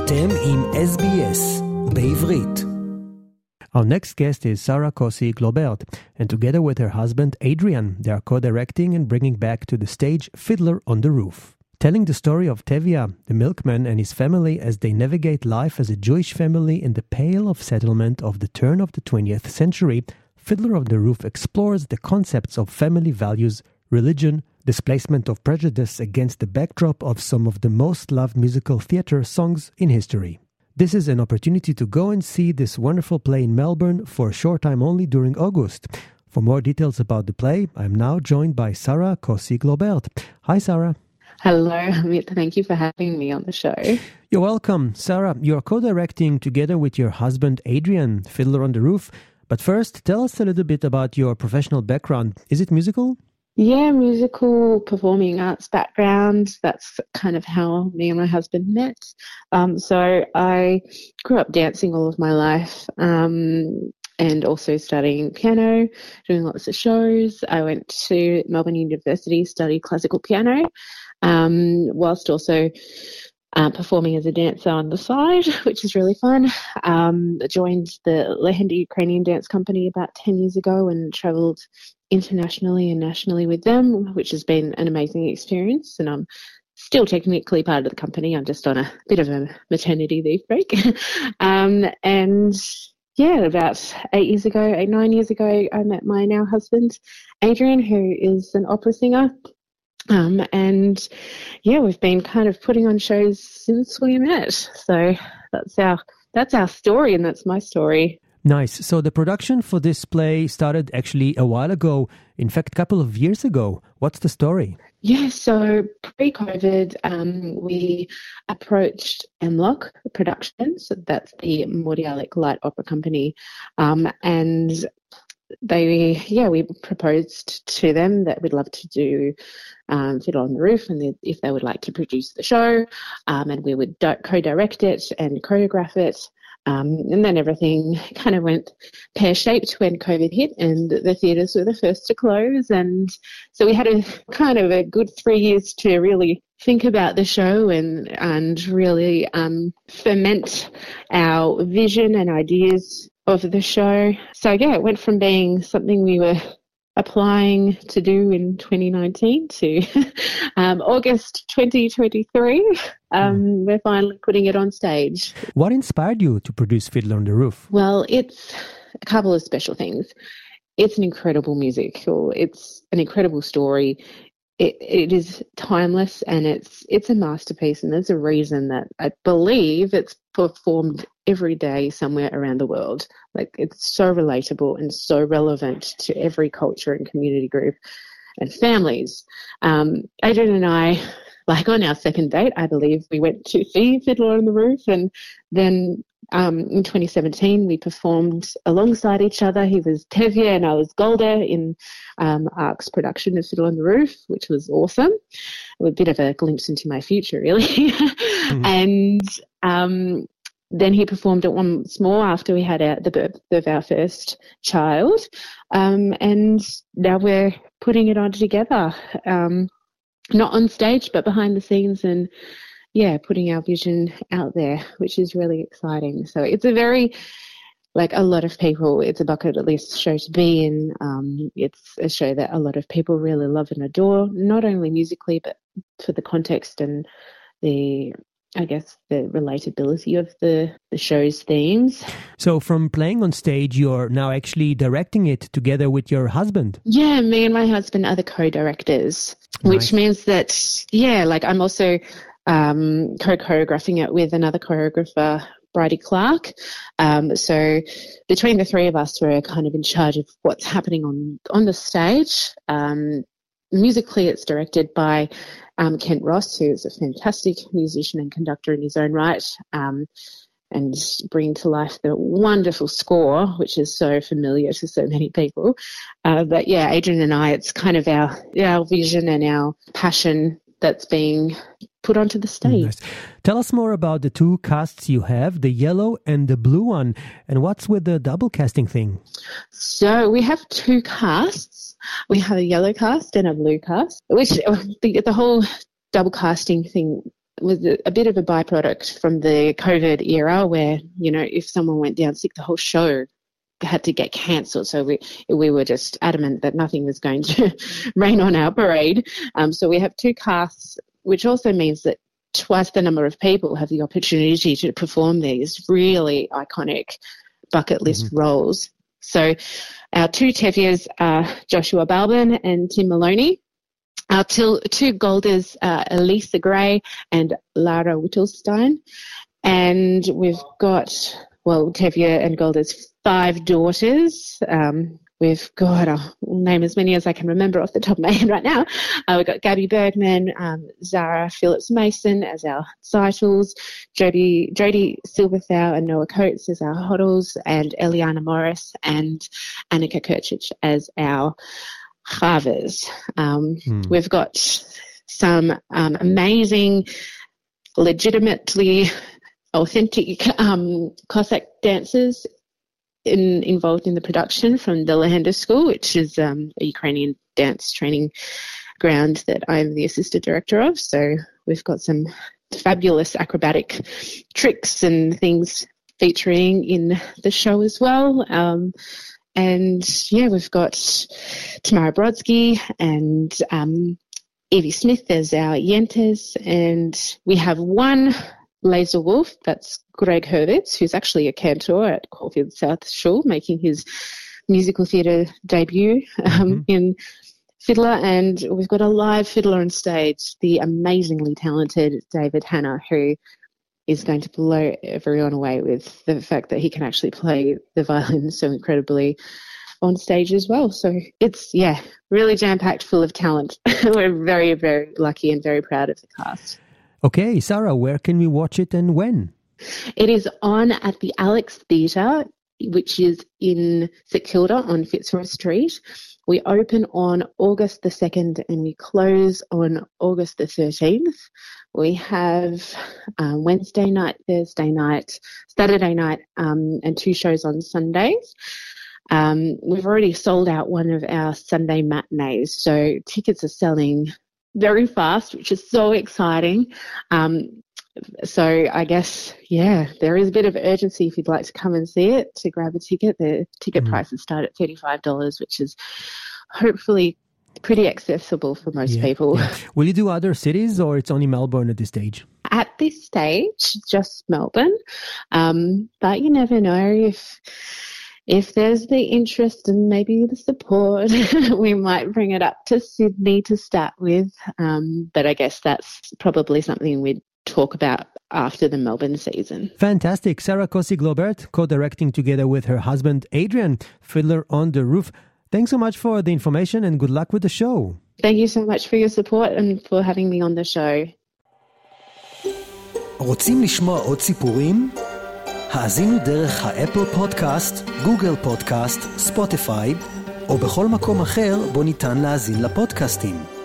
אתם עם SBS בעברית. Our next guest is Sarah Kosy-Globert, and together with her husband Adrian, they are co-directing and bringing back to the stage Fiddler on the Roof. Telling the story of Tevye, the milkman, and his family as they navigate life as a Jewish family in the Pale of Settlement of the turn of the 20th century, Fiddler on the Roof explores the concepts of family values, religion, displacement of prejudice against the backdrop of some of the most loved musical theatre songs in history. This is an opportunity to go and see this wonderful play in Melbourne for a short time only during August. For more details about the play, I'm now joined by Sarah Kosy-Globert. Hi, Sarah. Hello, Amit. Thank you for having me on the show. You're welcome. Sarah, you're co-directing together with your husband Adrian, Fiddler on the Roof. But first, tell us a little bit about your professional background. Is it musical? Yeah, musical performing arts background. That's kind of how me and my husband met. So I grew up dancing all of my life and also studying piano, doing lots of shows. I went to Melbourne University, studied classical piano, whilst also performing as a dancer on the side, which is really fun. I joined the Lehenda Ukrainian Dance Company about 10 years ago and travelled internationally and nationally with them, which has been an amazing experience. And I'm still technically part of the company. I'm just on a bit of a maternity leave break. And yeah, about 9 years ago, I met my now husband, Adrian, who is an opera singer. And yeah, we've been kind of putting on shows since we met. So that's our story, and that's my story. Nice. So the production for this play started actually a while ago, in fact, a couple of years ago. What's the story? Yeah, so pre-COVID, we approached MLOC Productions, so that's the Mordialloc Light Opera Company, and we proposed to them that we'd love to do Fiddler on the Roof, and if they would like to produce the show, and we would co-direct it and choreograph it. And then everything kind of went pear-shaped when COVID hit, and the theatres were the first to close. And so we had a kind of a good 3 years to really think about the show and really ferment our vision and ideas of the show. So yeah, it went from being something we were applying to do in 2019 to August 2023. We're finally putting it on stage. What inspired you to produce Fiddler on the Roof? Well, it's a couple of special things. It's an incredible musical. It's an incredible story. It is timeless, and it's a masterpiece, and there's a reason that I believe it's performed every day somewhere around the world. Like, it's so relatable and so relevant to every culture and community group and families. Adrian and I, like on our second date, I believe, we went to see Fiddler on the Roof, and then in 2017 we performed alongside each other. He was Tevye and I was Golda in ARC's production of Fiddler on the Roof, which was awesome. A bit of a glimpse into my future, really. And then he performed it once more after we had the birth of our first child, and now we're putting it on together. Not on stage, but behind the scenes, and putting our vision out there, which is really exciting. So it's a very, a lot of people, it's a bucket list show to be in. It's a show that a lot of people really love and adore, not only musically, but for the context and the relatability of the show's themes. So from playing on stage, you're now actually directing it together with your husband? Yeah, me and my husband are the co-directors, which means that, I'm also co-choreographing it with another choreographer, Bridie Clark. So between the three of us, we're kind of in charge of what's happening on the stage. Musically, it's directed by Kent Ross, who is a fantastic musician and conductor in his own right, and bring to life the wonderful score, which is so familiar to so many people. But yeah, Adrian and I, it's kind of our vision and our passion that's being put onto the stage. Nice. Tell us more about the two casts you have, the yellow and the blue one, and what's with the double casting thing? So we have two casts. We have a yellow cast and a blue cast, which the whole double casting thing was a bit of a byproduct from the COVID era where, if someone went down sick, the whole show had to get cancelled. So we were just adamant that nothing was going to rain on our parade. So we have 2 casts, which also means that twice the number of people have the opportunity to perform these really iconic bucket list roles. So our 2 Tevias are Joshua Balbin and Tim Maloney. Our 2 Golders are Elisa Gray and Lara Whittlestein. And we've got, Tevye and Golder's 5 daughters. We've got, I'll name as many as I can remember off the top of my head right now. We've got Gabby Bergman, Zara Phillips-Mason as our Cytles, Jodie Silverthau and Noah Coates as our Hoddles, and Eliana Morris and Annika Kirchich as our Chavers. We've got some amazing, legitimately authentic Cossack dancers involved in the production from the Lahenda School, which is a Ukrainian dance training ground that I'm the assistant director of. So we've got some fabulous acrobatic tricks and things featuring in the show as well. We've got Tamara Brodsky and Evie Smith as our Yentes, and we have 1 Laser Wolf, that's Greg Hurwitz, who's actually a cantor at Caulfield South Schule, making his musical theatre debut in Fiddler. And we've got a live fiddler on stage, the amazingly talented David Hanna, who is going to blow everyone away with the fact that he can actually play the violin so incredibly on stage as well. So it's, really jam-packed full of talent. We're very, very lucky and very proud of the cast. Okay, Sarah, where can we watch it and when? It is on at the Alex Theatre, which is in St Kilda on Fitzroy Street. We open on August the 2nd and we close on August the 13th. We have Wednesday night, Thursday night, Saturday night, and 2 shows on Sundays. We've already sold out one of our Sunday matinees, so tickets are selling very fast, which is so exciting. So I guess, there is a bit of urgency if you'd like to come and see it, to grab a ticket. The ticket prices start at $35, which is hopefully pretty accessible for most people. Yeah. Will you do other cities or it's only Melbourne at this stage? At this stage, just Melbourne. But you never know if there's the interest and maybe the support, we might bring it up to Sydney to start with. But I guess that's probably something we'd talk about after the Melbourne season. Fantastic. Sarah Kosy-Globert, co-directing together with her husband Adrian, Fiddler on the Roof. Thanks so much for the information and good luck with the show. Thank you so much for your support and for having me on the show. רוצים לשמוע עוד סיפורים? האזינו דרך האפל פודקאסט, גוגל פודקאסט, ספוטיפיי, או בכל מקום אחר בו ניתן להאזין לפודקאסטים.